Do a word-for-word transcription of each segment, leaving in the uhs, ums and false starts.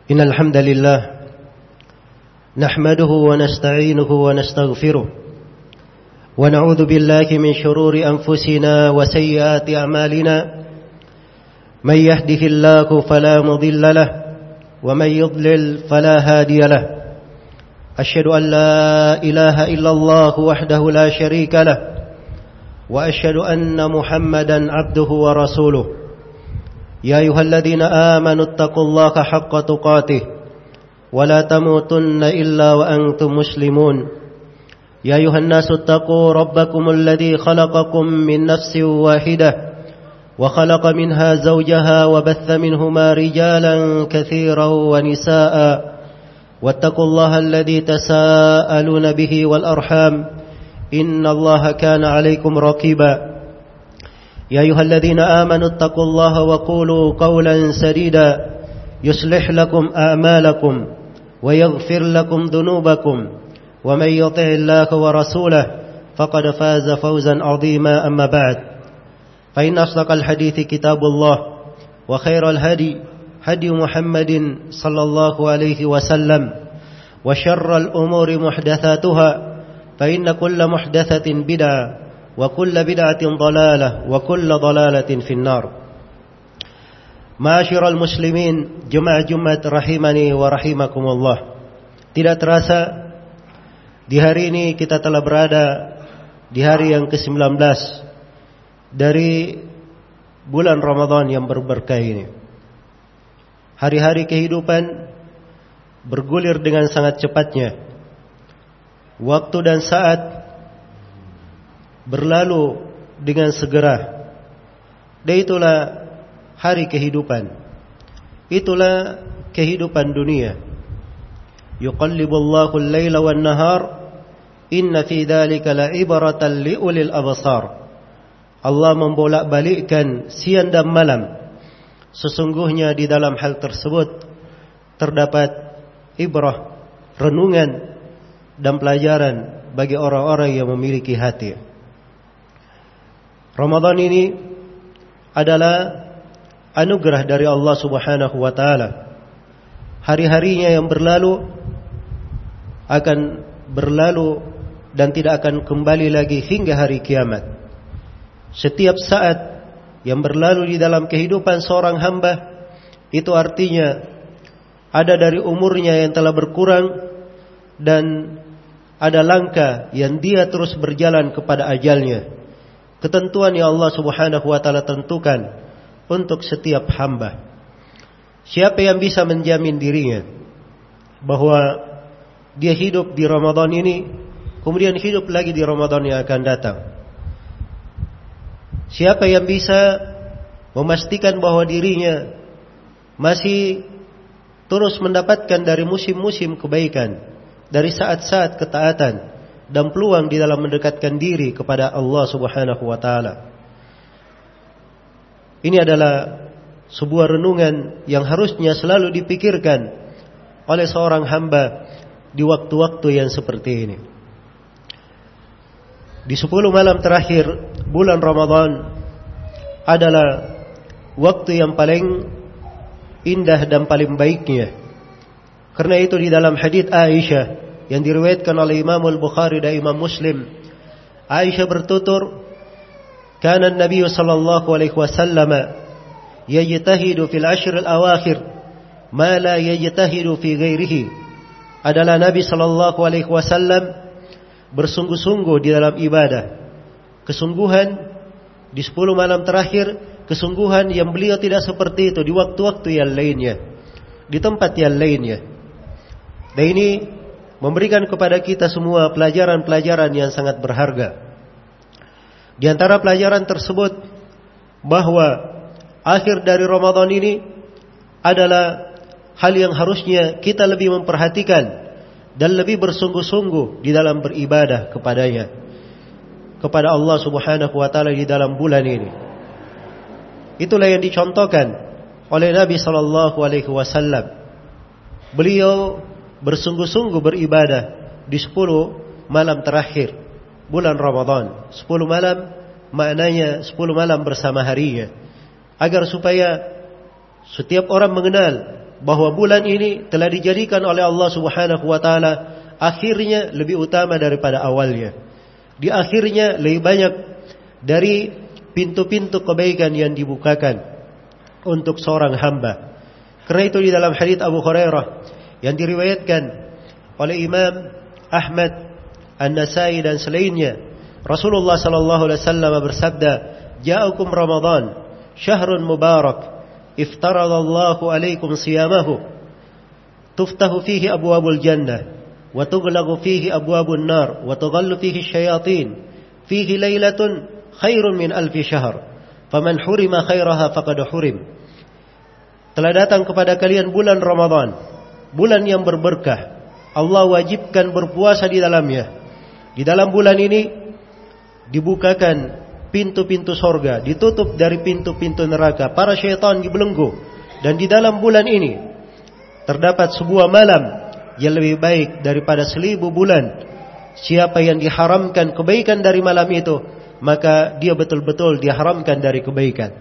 إن الحمد لله نحمده ونستعينه ونستغفره ونعوذ بالله من شرور أنفسنا وسيئات أعمالنا من يهده الله فلا مضل له ومن يضلل فلا هادي له أشهد أن لا إله إلا الله وحده لا شريك له وأشهد أن محمدا عبده ورسوله يا أيها الذين آمنوا اتقوا الله حق تقاته ولا تموتن إلا وأنتم مسلمون يا أيها الناس اتقوا ربكم الذي خلقكم من نفس واحدة وخلق منها زوجها وبث منهما رجالا كثيرا ونساء واتقوا الله الذي تساءلون به والأرحام إن الله كان عليكم رقيبا يا أيها الذين آمنوا اتقوا الله وقولوا قولا سديدا يصلح لكم أعمالكم ويغفر لكم ذنوبكم ومن يطع الله ورسوله فقد فاز فوزا عظيما أما بعد فإن أصدق الحديث كتاب الله وخير الهدي هدي محمد صلى الله عليه وسلم وشر الأمور محدثاتها فإن كل محدثة بدعة وكل بدعة ضلالة وكل ضلالة في النار. Ma'asyiral muslimin, jemaah Jumat rahimani wa rahimakumullah. Tidak terasa di hari ini kita telah berada di hari yang ke sembilan belas dari bulan Ramadan yang berberkah ini. Hari-hari kehidupan bergulir dengan sangat cepatnya. Waktu dan saat berlalu dengan segera. Dan itulah hari kehidupan. Itulah kehidupan dunia. Yuqallibullahu al-laila wan-nahar inna fi dzalika la'ibratan liulil absar. Allah membolak-balikkan siang dan malam. Sesungguhnya di dalam hal tersebut terdapat ibrah, renungan dan pelajaran bagi orang-orang yang memiliki hati. Ramadan ini adalah anugerah dari Allah Subhanahu wa taala. Hari-harinya yang berlalu akan berlalu dan tidak akan kembali lagi hingga hari kiamat. Setiap saat yang berlalu di dalam kehidupan seorang hamba itu artinya ada dari umurnya yang telah berkurang dan ada langkah yang dia terus berjalan kepada ajalnya. Ketentuan yang Allah Subhanahu wa taala tentukan untuk setiap hamba. Siapa yang bisa menjamin dirinya bahwa dia hidup di Ramadan ini, kemudian hidup lagi di Ramadan yang akan datang? Siapa yang bisa memastikan bahwa dirinya masih terus mendapatkan dari musim-musim kebaikan, dari saat-saat ketaatan dan peluang di dalam mendekatkan diri kepada Allah Subhanahu wa taala? Ini adalah sebuah renungan yang harusnya selalu dipikirkan oleh seorang hamba di waktu-waktu yang seperti ini. Di sepuluh malam terakhir bulan Ramadan adalah waktu yang paling indah dan paling baiknya. Karena itu di dalam hadits Aisyah yang diriwayatkan oleh Imam Al-Bukhari dan Imam Muslim, Aisyah bertutur, "Kana an-nabiy sallallahu alaihi wasallam yajtahidu fil ashr al-awakhir ma la yajtahidu fi ghairihi." Adalah Nabi sallallahu alaihi wasallam bersungguh-sungguh di dalam ibadah. Kesungguhan di sepuluh malam terakhir, kesungguhan yang beliau tidak seperti itu di waktu-waktu yang lainnya, di tempat yang lainnya. Dan ini memberikan kepada kita semua pelajaran-pelajaran yang sangat berharga. Di antara pelajaran tersebut bahwa akhir dari Ramadan ini adalah hal yang harusnya kita lebih memperhatikan dan lebih bersungguh-sungguh di dalam beribadah kepadanya, kepada Allah Subhanahu wa taala di dalam bulan ini. Itulah yang dicontohkan oleh Nabi sallallahu alaihi wasallam. Beliau bersungguh-sungguh beribadah di sepuluh malam terakhir bulan Ramadan. Sepuluh malam maknanya sepuluh malam bersama harinya, agar supaya setiap orang mengenal bahwa bulan ini telah dijadikan oleh Allah Subhanahu wa taala akhirnya lebih utama daripada awalnya. Di akhirnya lebih banyak dari pintu-pintu kebaikan yang dibukakan untuk seorang hamba. Karena itu di dalam hadits Abu Hurairah yang diriwayatkan oleh Imam Ahmad, An-Nasai dan selainnya, Rasulullah sallallahu alaihi wasallam bersabda, "Ja'akum Ramadan, syahrun mubarak, iftaradallahu alaikum siyamahu, tuftahu fihi abwabul jannah, wa tughlaqu fihi abwabun nar, wa tughallu fihi syayatin, fihi lailatun khairun min alfi syahr, faman hurima khairaha faqad hurim." Telah datang kepada kalian bulan Ramadan, bulan yang berberkah. Allah wajibkan berpuasa di dalamnya. Di dalam bulan ini dibukakan pintu-pintu sorga, ditutup dari pintu-pintu neraka, para syaitan dibelenggu. Dan di dalam bulan ini terdapat sebuah malam yang lebih baik daripada seribu bulan. Siapa yang diharamkan kebaikan dari malam itu, maka dia betul-betul diharamkan dari kebaikan.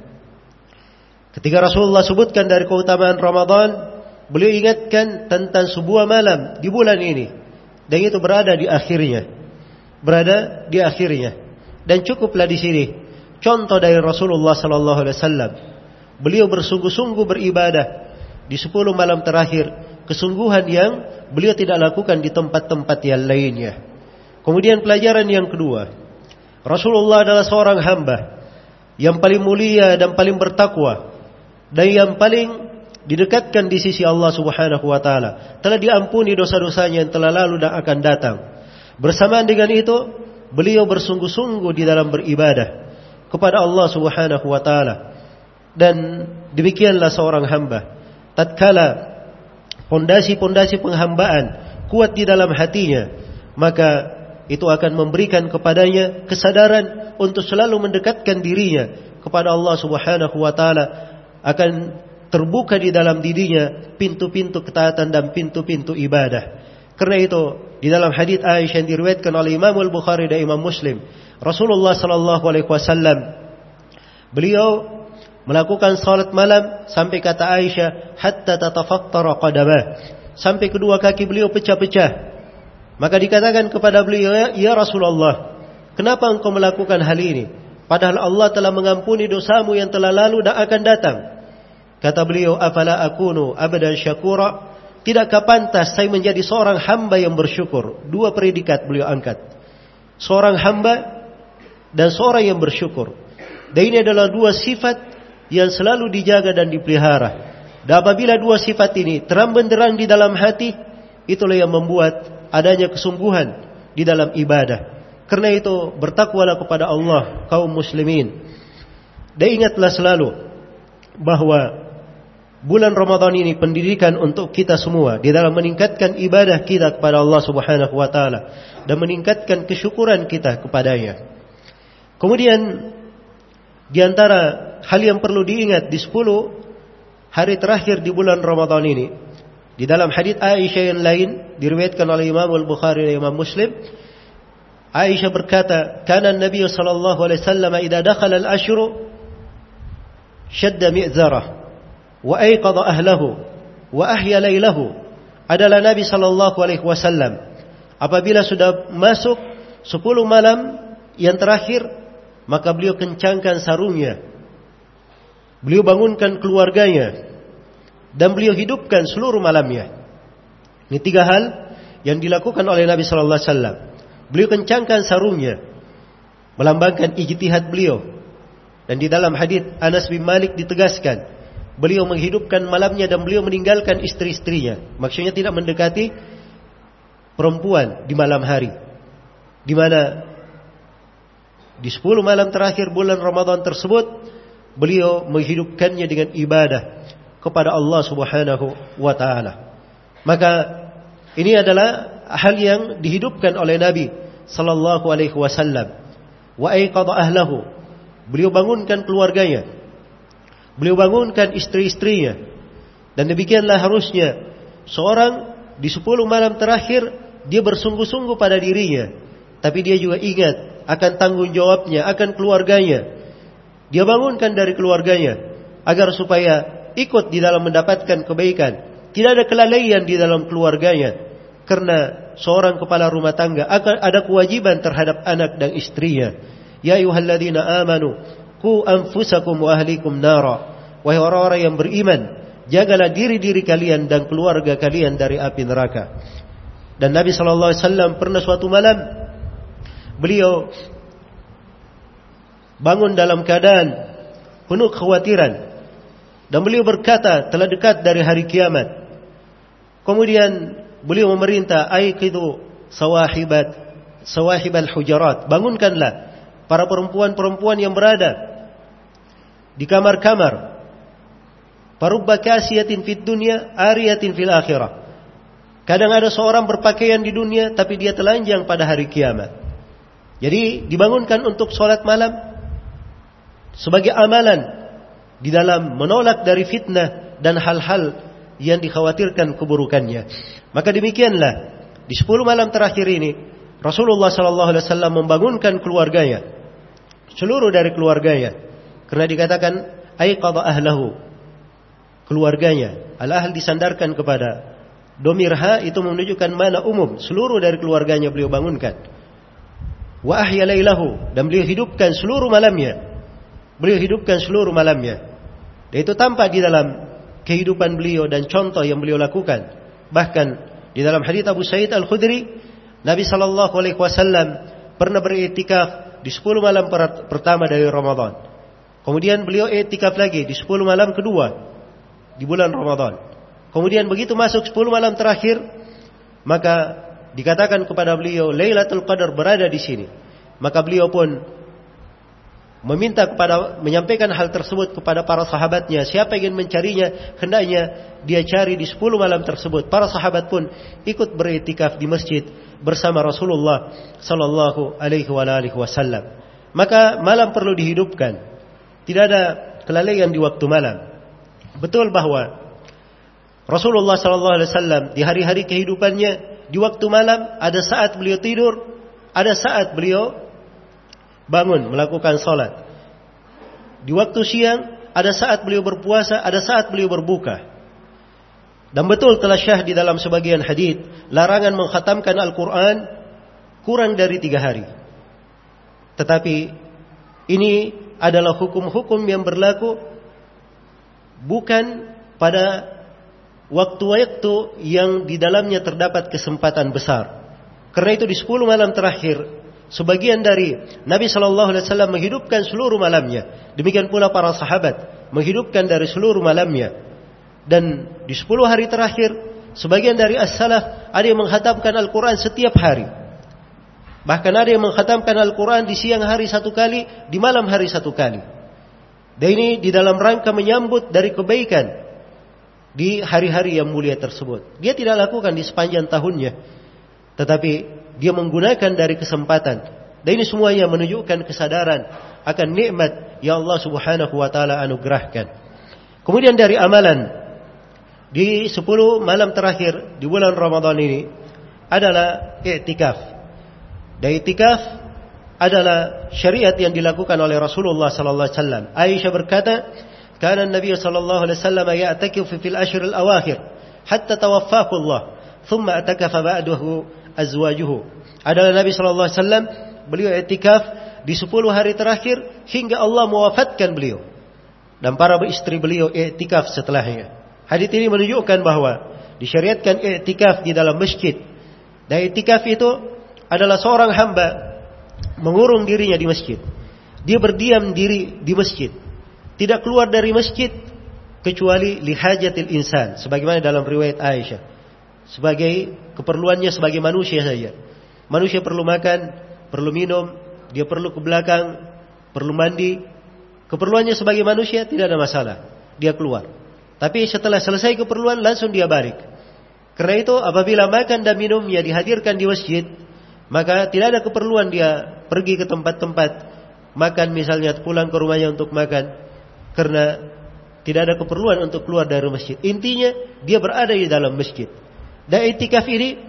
Ketika Rasulullah sebutkan dari keutamaan Ramadan, beliau ingatkan tentang sebuah malam di bulan ini, dan itu berada di akhirnya, berada di akhirnya. Dan cukuplah di sini contoh dari Rasulullah sallallahu alaihi wasallam. Beliau bersungguh-sungguh beribadah di sepuluh malam terakhir, kesungguhan yang beliau tidak lakukan di tempat-tempat yang lainnya. Kemudian pelajaran yang kedua, Rasulullah adalah seorang hamba yang paling mulia dan paling bertakwa, dan yang paling didekatkan di sisi Allah Subhanahu wa taala. Telah diampuni dosa-dosanya yang telah lalu dan akan datang. Bersamaan dengan itu, beliau bersungguh-sungguh di dalam beribadah kepada Allah Subhanahu wa taala. Dan demikianlah seorang hamba, tatkala pondasi-pondasi penghambaan kuat di dalam hatinya, maka itu akan memberikan kepadanya kesadaran untuk selalu mendekatkan dirinya kepada Allah Subhanahu wa taala. Akan terbuka di dalam dirinya pintu-pintu ketaatan dan pintu-pintu ibadah. Karena itu di dalam hadits Aisyah yang diriwayatkan oleh Imam Al-Bukhari dan Imam Muslim, Rasulullah sallallahu alaihi wasallam beliau melakukan salat malam sampai kata Aisyah hatta tatafattara qadamah, sampai kedua kaki beliau pecah-pecah. Maka dikatakan kepada beliau, "Ya Rasulullah, kenapa engkau melakukan hal ini? Padahal Allah telah mengampuni dosamu yang telah lalu dan akan datang." Kata beliau, "Afala akunu abdan syakura?" Tidakkah pantas saya menjadi seorang hamba yang bersyukur? Dua predikat beliau angkat, seorang hamba dan seorang yang bersyukur. Dan ini adalah dua sifat yang selalu dijaga dan dipelihara. Dan apabila dua sifat ini terang benderang di dalam hati, itulah yang membuat adanya kesungguhan di dalam ibadah. Karena itu bertakwalah kepada Allah kaum muslimin. Dan ingatlah selalu bahwa bulan Ramadan ini pendidikan untuk kita semua di dalam meningkatkan ibadah kita kepada Allah Subhanahu wa taala dan meningkatkan kesyukuran kita kepadanya. Kemudian di antara hal yang perlu diingat di sepuluh hari terakhir di bulan Ramadan ini, di dalam hadits Aisyah yang lain diriwayatkan oleh Imam Al-Bukhari dan Imam Muslim, Aisyah berkata, "Kana Nabi sallallahu alaihi wasallam idza dakhala al-ashru shadda mi'zarah wa ayqadha ahlahu wa ahya lailahu." Adalah Nabi sallallahu alaihi wasallam apabila sudah masuk sepuluh malam yang terakhir, maka beliau kencangkan sarungnya, beliau bangunkan keluarganya, dan beliau hidupkan seluruh malamnya. Ini tiga hal yang dilakukan oleh Nabi sallallahu alaihi wasallam. Beliau kencangkan sarungnya, melambangkan ijtihad beliau. Dan di dalam hadits Anas bin Malik ditegaskan, beliau menghidupkan malamnya dan beliau meninggalkan istri-istrinya. Maksudnya tidak mendekati perempuan di malam hari. Di mana di sepuluh malam terakhir bulan Ramadan tersebut, beliau menghidupkannya dengan ibadah kepada Allah Subhanahu wa taala. Maka ini adalah hal yang dihidupkan oleh Nabi sallallahu alaihi wasallam. Wa ayqadha ahlahu, beliau bangunkan keluarganya, beliau bangunkan istri-istrinya. Dan demikianlah harusnya seorang di sepuluh malam terakhir, dia bersungguh-sungguh pada dirinya, tapi dia juga ingat akan tanggung jawabnya, akan keluarganya. Dia bangunkan dari keluarganya agar supaya ikut di dalam mendapatkan kebaikan Tidak ada kelalaian di dalam keluarganya. Karena seorang kepala rumah tangga akan ada kewajiban terhadap anak dan istrinya. Ya ayyuhalladzina amanu qu anfusakum wa ahlikum nara. Wahai orang-orang yang beriman, jagalah diri-diri kalian dan keluarga kalian dari api neraka. Dan Nabi sallallahu alaihi wasallam pernah suatu malam beliau bangun dalam keadaan penuh kekhawatiran dan beliau berkata, telah dekat dari hari kiamat. Kemudian beliau memerintah, aiqidu sawahibat sawahibal hujarat, bangunkanlah para perempuan-perempuan yang berada di kamar-kamar. Parubba kasiyatin fid dunya ariyatin fil akhirah. Kadang ada seorang berpakaian di dunia tapi dia telanjang pada hari kiamat. Jadi dibangunkan untuk sholat malam sebagai amalan di dalam menolak dari fitnah dan hal-hal yang dikhawatirkan keburukannya. Maka demikianlah di sepuluh malam terakhir ini Rasulullah sallallahu alaihi wasallam membangunkan keluarganya, seluruh dari keluarganya, karena dikatakan aiqadha ahlahu, keluarganya. Al-ahl disandarkan kepada domir ha, itu menunjukkan mana umum, seluruh dari keluarganya beliau bangunkan. Wa ahya lailahu, dan beliau hidupkan seluruh malamnya. Beliau hidupkan seluruh malamnya. Dan itu tampak di dalam kehidupan beliau dan contoh yang beliau lakukan. Bahkan di dalam hadits Abu Sa'id Al-Khudri, Nabi sallallahu alaihi wasallam pernah beriktikaf di sepuluh malam pertama dari Ramadan. Kemudian beliau iktikaf lagi di sepuluh malam kedua di bulan Ramadan. Kemudian begitu masuk sepuluh malam terakhir, maka dikatakan kepada beliau Lailatul Qadar berada di sini. Maka beliau pun meminta kepada, menyampaikan hal tersebut kepada para sahabatnya. Siapa yang ingin mencarinya, hendaknya dia cari di sepuluh malam tersebut. Para sahabat pun ikut beriktikaf di masjid bersama Rasulullah sallallahu alaihi wasallam. Maka malam perlu dihidupkan. Tidak ada kelalaian di waktu malam. Betul bahwa Rasulullah sallallahu alaihi wasallam di hari-hari kehidupannya di waktu malam ada saat beliau tidur, ada saat beliau bangun melakukan salat. Di waktu siang ada saat beliau berpuasa, ada saat beliau berbuka. Dan betul telah syah di dalam sebagian hadis larangan mengkhatamkan Al-Quran kurang dari tiga hari. Tetapi ini adalah hukum-hukum yang berlaku bukan pada waktu-waktu yang di dalamnya terdapat kesempatan besar. Karena itu di sepuluh malam terakhir sebagian dari Nabi sallallahu alaihi wasallam menghidupkan seluruh malamnya. Demikian pula para sahabat menghidupkan dari seluruh malamnya. Dan di sepuluh hari terakhir sebagian dari as-salaf ada yang mengkhatamkan Al-Quran setiap hari. Bahkan ada yang mengkhatamkan Al-Quran di siang hari satu kali, di malam hari satu kali. Dan ini di dalam rangka menyambut dari kebaikan di hari-hari yang mulia tersebut. Dia tidak lakukan di sepanjang tahunnya, tetapi dia menggunakan dari kesempatan. Dan ini semuanya menunjukkan kesadaran akan nikmat yang Allah Subhanahu wa taala anugerahkan. Kemudian dari amalan di sepuluh malam terakhir di bulan Ramadan ini adalah i'tikaf. Dan i'tikaf adalah syariat yang dilakukan oleh Rasulullah sallallahu alaihi wasallam. Aisyah berkata, "Kana Nabi sallallahu alaihi wasallam ya'takifu fil ashr al-awakhir hatta tawaffahu Allah, thumma atakafa ba'dahu azwajuhu." Adalah Nabi sallallahu alaihi wasallam beliau i'tikaf di sepuluh hari terakhir hingga Allah mewafatkan beliau. Dan para istri beliau i'tikaf setelahnya. Hadis ini menunjukkan bahwa disyariatkan i'tikaf di dalam masjid. Dan i'tikaf itu adalah seorang hamba mengurung dirinya di masjid. Dia berdiam diri di masjid, tidak keluar dari masjid kecuali lihajatil insan, sebagaimana dalam riwayat Aisyah, sebagai keperluannya sebagai manusia saja. Manusia perlu makan, perlu minum, dia perlu ke belakang, perlu mandi. Keperluannya sebagai manusia tidak ada masalah, dia keluar. Tapi setelah selesai keperluan langsung dia balik. Karena itu apabila makan dan minumnya dihadirkan di masjid, maka tidak ada keperluan dia pergi ke tempat-tempat makan, misalnya pulang ke rumahnya untuk makan, karena tidak ada keperluan untuk keluar dari masjid. Intinya dia berada di dalam masjid. Dan i'tikaf ini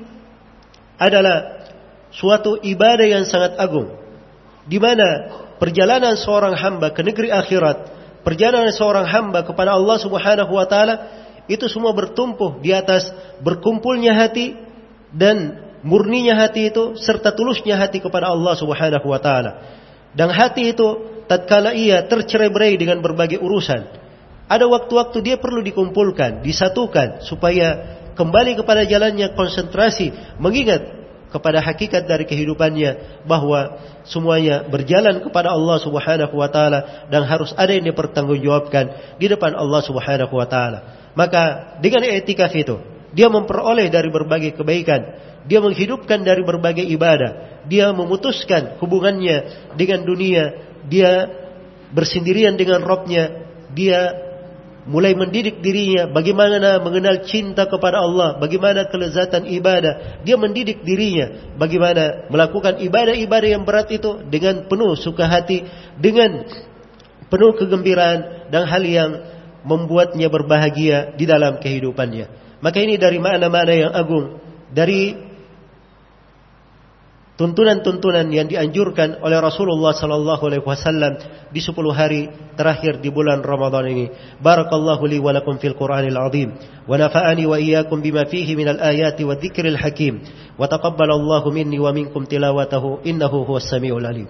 adalah suatu ibadah yang sangat agung, di mana perjalanan seorang hamba ke negeri akhirat, perjalanan seorang hamba kepada Allah Subhanahu wa taala, itu semua bertumpu di atas berkumpulnya hati dan murninya hati itu serta tulusnya hati kepada Allah Subhanahu wa taala. Dan hati itu tatkala ia tercerai-berai dengan berbagai urusan, ada waktu-waktu dia perlu dikumpulkan, disatukan supaya kembali kepada jalannya konsentrasi, mengingat kepada hakikat dari kehidupannya bahwa semuanya berjalan kepada Allah Subhanahu wa taala dan harus ada yang dipertanggungjawabkan di depan Allah Subhanahu wa taala. Maka dengan i'tikaf itu dia memperoleh dari berbagai kebaikan, dia menghidupkan dari berbagai ibadah, dia memutuskan hubungannya dengan dunia, dia bersendirian dengan Rabb-nya, dia mulai mendidik dirinya bagaimana mengenal cinta kepada Allah, bagaimana kelezatan ibadah. Dia mendidik dirinya bagaimana melakukan ibadah-ibadah yang berat itu dengan penuh suka hati, dengan penuh kegembiraan dan hal yang membuatnya berbahagia di dalam kehidupannya. Maka ini dari makna-makna yang agung, dari tuntunan-tuntunan yang dianjurkan oleh Rasulullah sallallahu alaihi wasallam di sepuluh hari terakhir di bulan Ramadan ini. Barakallahu li wa lakum fil Qur'anil azim wa nafa'ani wa iyyakum bima fihi minal ayati wa dzikril hakim wa taqabbalallahu minni wa minkum tilawatahu innahu huwas samiul alim.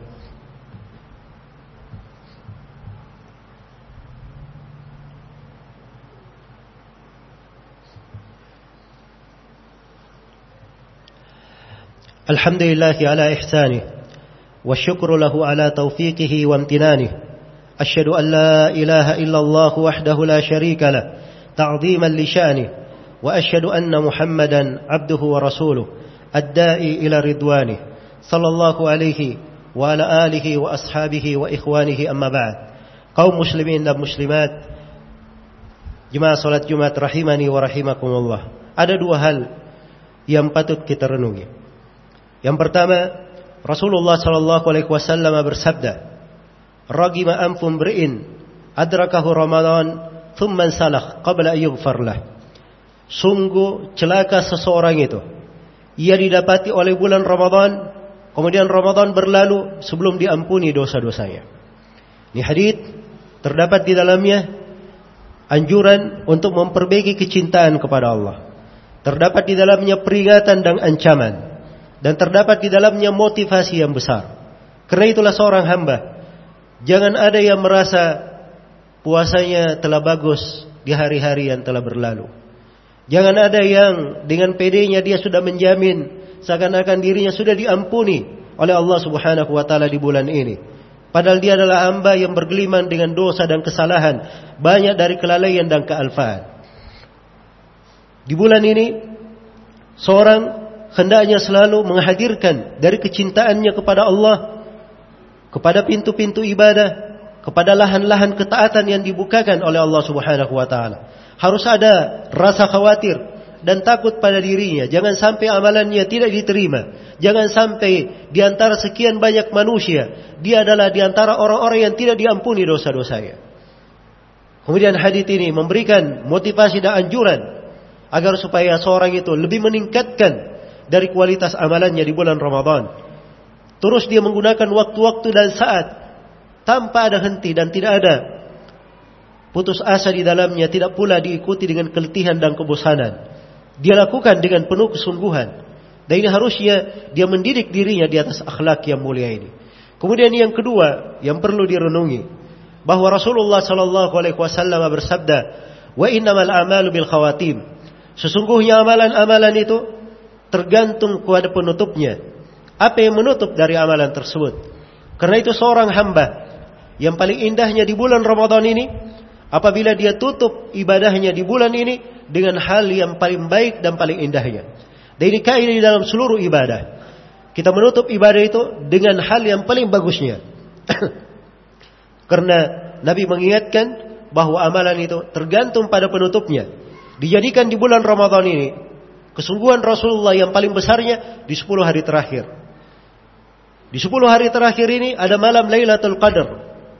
الحمد لله على إحسانه والشكر له على توفيقه وامتنانه أشهد أن لا إله إلا الله وحده لا شريك له تعظيما لشأنه وأشهد أن محمدا عبده ورسوله الداعي إلى رضوانه صلى الله عليه وعلى آله وأصحابه وإخوانه أما بعد. Kaum muslimin dan muslimat, jemaah salat Jumat rahimani wa rahimakumullah. Ada dua hal yang patut kita renungi. Yang pertama, Rasulullah sallallahu alaihi wasallam bersabda, "Ragima anfum bri'in adrakahu Ramadan thumma salakh qabla an yughfar lah." Sungguh celaka seseorang itu, ia didapati oleh bulan Ramadan, kemudian Ramadan berlalu sebelum diampuni dosa-dosanya. Ini hadits terdapat di dalamnya anjuran untuk memperbaiki kecintaan kepada Allah. Terdapat di dalamnya peringatan dan ancaman. Dan terdapat di dalamnya motivasi yang besar. Karena itulah seorang hamba, jangan ada yang merasa puasanya telah bagus di hari-hari yang telah berlalu. Jangan ada yang dengan pedenya dia sudah menjamin seakan-akan dirinya sudah diampuni oleh Allah Subhanahu wa taala di bulan ini. Padahal dia adalah hamba yang bergeliman dengan dosa dan kesalahan, banyak dari kelalaian dan kealfaan. Di bulan ini seorang hendaknya selalu menghadirkan dari kecintaannya kepada Allah, kepada pintu-pintu ibadah, kepada lahan-lahan ketaatan yang dibukakan oleh Allah Subhanahu wa taala. Harus ada rasa khawatir dan takut pada dirinya, jangan sampai amalannya tidak diterima. Jangan sampai di antara sekian banyak manusia, dia adalah di antara orang-orang yang tidak diampuni dosa-dosanya. Kemudian hadits ini memberikan motivasi dan anjuran agar supaya seorang itu lebih meningkatkan dari kualitas amalannya di bulan Ramadan. Terus dia menggunakan waktu-waktu dan saat tanpa ada henti dan tidak ada putus asa di dalamnya, tidak pula diikuti dengan keletihan dan kebosanan. Dia lakukan dengan penuh kesungguhan. Dan ini harusnya dia mendidik dirinya di atas akhlak yang mulia ini. Kemudian yang kedua yang perlu direnungi, bahwa Rasulullah sallallahu alaihi wasallam bersabda, "Wa innamal a'malu bil khawatim." Sesungguhnya amalan-amalan itu tergantung kepada penutupnya. Apa yang menutup dari amalan tersebut? Karena itu seorang hamba yang paling indahnya di bulan Ramadan ini, apabila dia tutup ibadahnya di bulan ini dengan hal yang paling baik dan paling indahnya. Dan ini kaidah di dalam seluruh ibadah. Kita menutup ibadah itu dengan hal yang paling bagusnya. Karena Nabi mengingatkan bahwa amalan itu tergantung pada penutupnya. Dijadikan di bulan Ramadan ini kesungguhan Rasulullah yang paling besarnya di sepuluh hari terakhir. Di sepuluh hari terakhir ini ada malam Lailatul Qadar.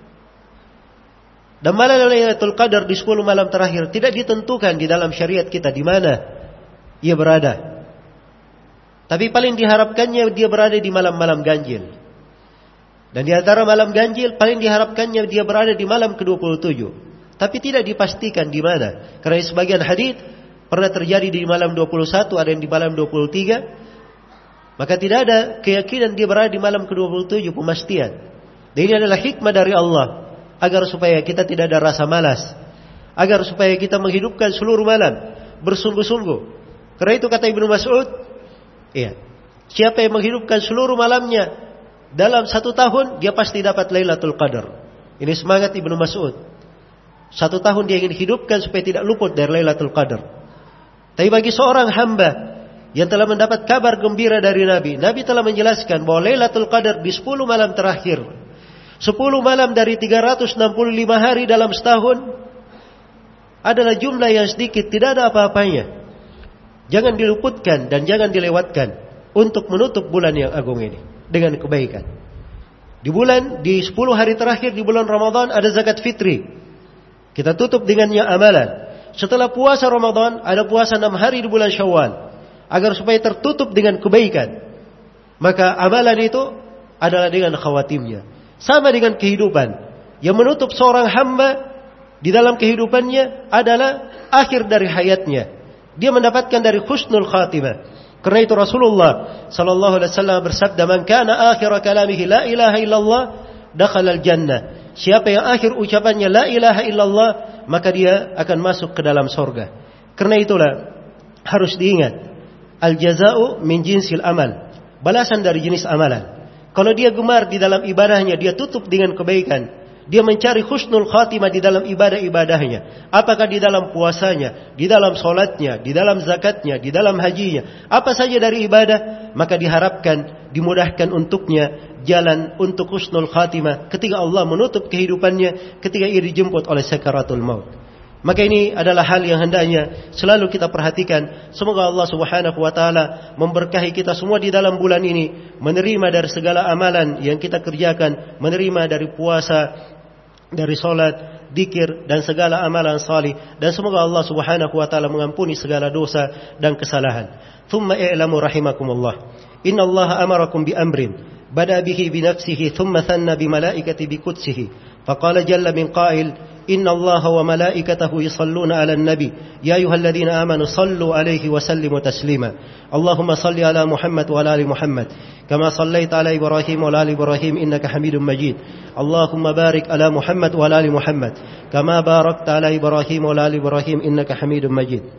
Dan malam Lailatul Qadar di sepuluh malam terakhir tidak ditentukan di dalam syariat kita di mana ia berada. Tapi paling diharapkannya dia berada di malam-malam ganjil. Dan di antara malam ganjil paling diharapkannya dia berada di malam ke dua puluh tujuh. tapi tidak dipastikan di mana. Karena sebagian hadis pernah terjadi di malam dua puluh satu, ada yang di malam dua puluh tiga. Maka tidak ada keyakinan dia berada di malam ke dua puluh tujuh, pemastian. Dan ini adalah hikmah dari Allah, agar supaya kita tidak ada rasa malas, agar supaya kita menghidupkan seluruh malam bersungguh-sungguh. Karena itu kata Ibnu Mas'ud, iya, siapa yang menghidupkan seluruh malamnya dalam satu tahun, dia pasti dapat Lailatul Qadar. Ini semangat Ibnu Mas'ud. Satu tahun dia ingin hidupkan supaya tidak luput dari Lailatul Qadar. Tapi bagi seorang hamba yang telah mendapat kabar gembira dari Nabi, Nabi telah menjelaskan bahwa Lailatul Qadar di sepuluh malam terakhir, sepuluh malam dari tiga ratus enam puluh lima hari dalam setahun, adalah jumlah yang sedikit, tidak ada apa-apanya. Jangan diluputkan dan jangan dilewatkan untuk menutup bulan yang agung ini dengan kebaikan. Di bulan, di sepuluh hari terakhir di bulan Ramadan ada zakat fitri. Kita tutup dengannya amalan. Setelah puasa Ramadan ada puasa enam hari di bulan Syawal, agar supaya tertutup dengan kebaikan. Maka amalan itu adalah dengan khawatimnya. Sama dengan kehidupan. Yang menutup seorang hamba di dalam kehidupannya adalah akhir dari hayatnya. Dia mendapatkan dari husnul khatimah. Karena itu Rasulullah sallallahu alaihi wasallam bersabda, "Man kana akhir kalamihi la ilaha illallah, dakhala al-jannah." Siapa yang akhir ucapannya la ilaha illallah, maka dia akan masuk ke dalam surga. Karena itulah harus diingat, al-jaza'u min jinsil amal. Balasan dari jenis amalan. Kalau dia gemar di dalam ibadahnya, dia tutup dengan kebaikan. Dia mencari husnul khatimah di dalam ibadah-ibadahnya. Apakah di dalam puasanya, di dalam solatnya, di dalam zakatnya, di dalam hajinya. Apa saja dari ibadah, maka diharapkan, dimudahkan untuknya jalan untuk husnul khatimah ketika Allah menutup kehidupannya, ketika ia dijemput oleh sakaratul maut. Maka ini adalah hal yang hendaknya selalu kita perhatikan. Semoga Allah Subhanahu wa taala memberkahi kita semua di dalam bulan ini, menerima dari segala amalan yang kita kerjakan, menerima dari puasa, dari salat, zikir dan segala amalan salih, dan semoga Allah Subhanahu wa taala mengampuni segala dosa dan kesalahan. Thumma i'lamu rahimakumullah, inna Allah amarakum bi amrin bada bihi bi nafsihi thumma thanna bi malaikati bi qudsihi. Faqala jalla min qail, inna Allah wa malaikatahu yusalluna 'alan nabi ya ayyuhalladzina amanu sallu 'alaihi wa sallimu taslima. Allahumma salli 'ala Muhammad wa 'ala ali Muhammad kama sallaita 'ala Ibrahim wa 'ala ali Ibrahim innaka Hamidum Majid. Allahumma barik 'ala Muhammad wa 'ala ali Muhammad kama barakta 'ala Ibrahim wa 'ala ali Ibrahim innaka Hamidum Majid.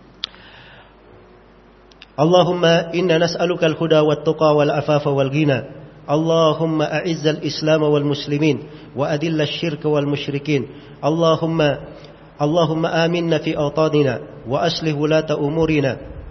Allahumma inna nas'aluka al-huda wat-tuqa wal-afafa wal-ghina. اللهم أعز الإسلام والمسلمين وأذل الشرك والمشركين. اللهم اللهم آمنا في أوطاننا وأصلح ولاة أمورنا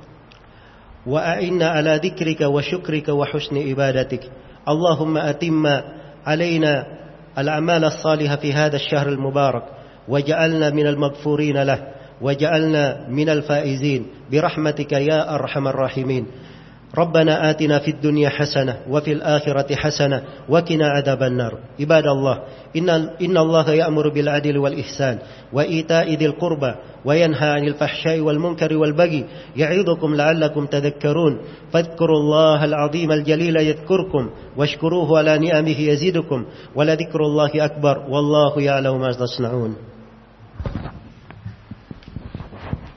وأعنا على ذكرك وشكرك وحسن عبادتك. اللهم أتم علينا الأعمال الصالحة في هذا الشهر المبارك وجعلنا من المغفورين له وجعلنا من الفائزين برحمتك يا أرحم الراحمين. ربنا آتنا في الدنيا حسنة وفي الآخرة حسنة وقنا عذاب النار. عباد الله، إن إن الله يأمر بالعدل والإحسان وإيتاء ذي القربى وينهى عن الفحشاء والمنكر والبغي يعظكم لعلكم تذكرون. فاذكروا الله العظيم الجليل يذكركم واشكروه على نعمه يزيدكم ولذكر الله أكبر والله يعلم ما تصنعون.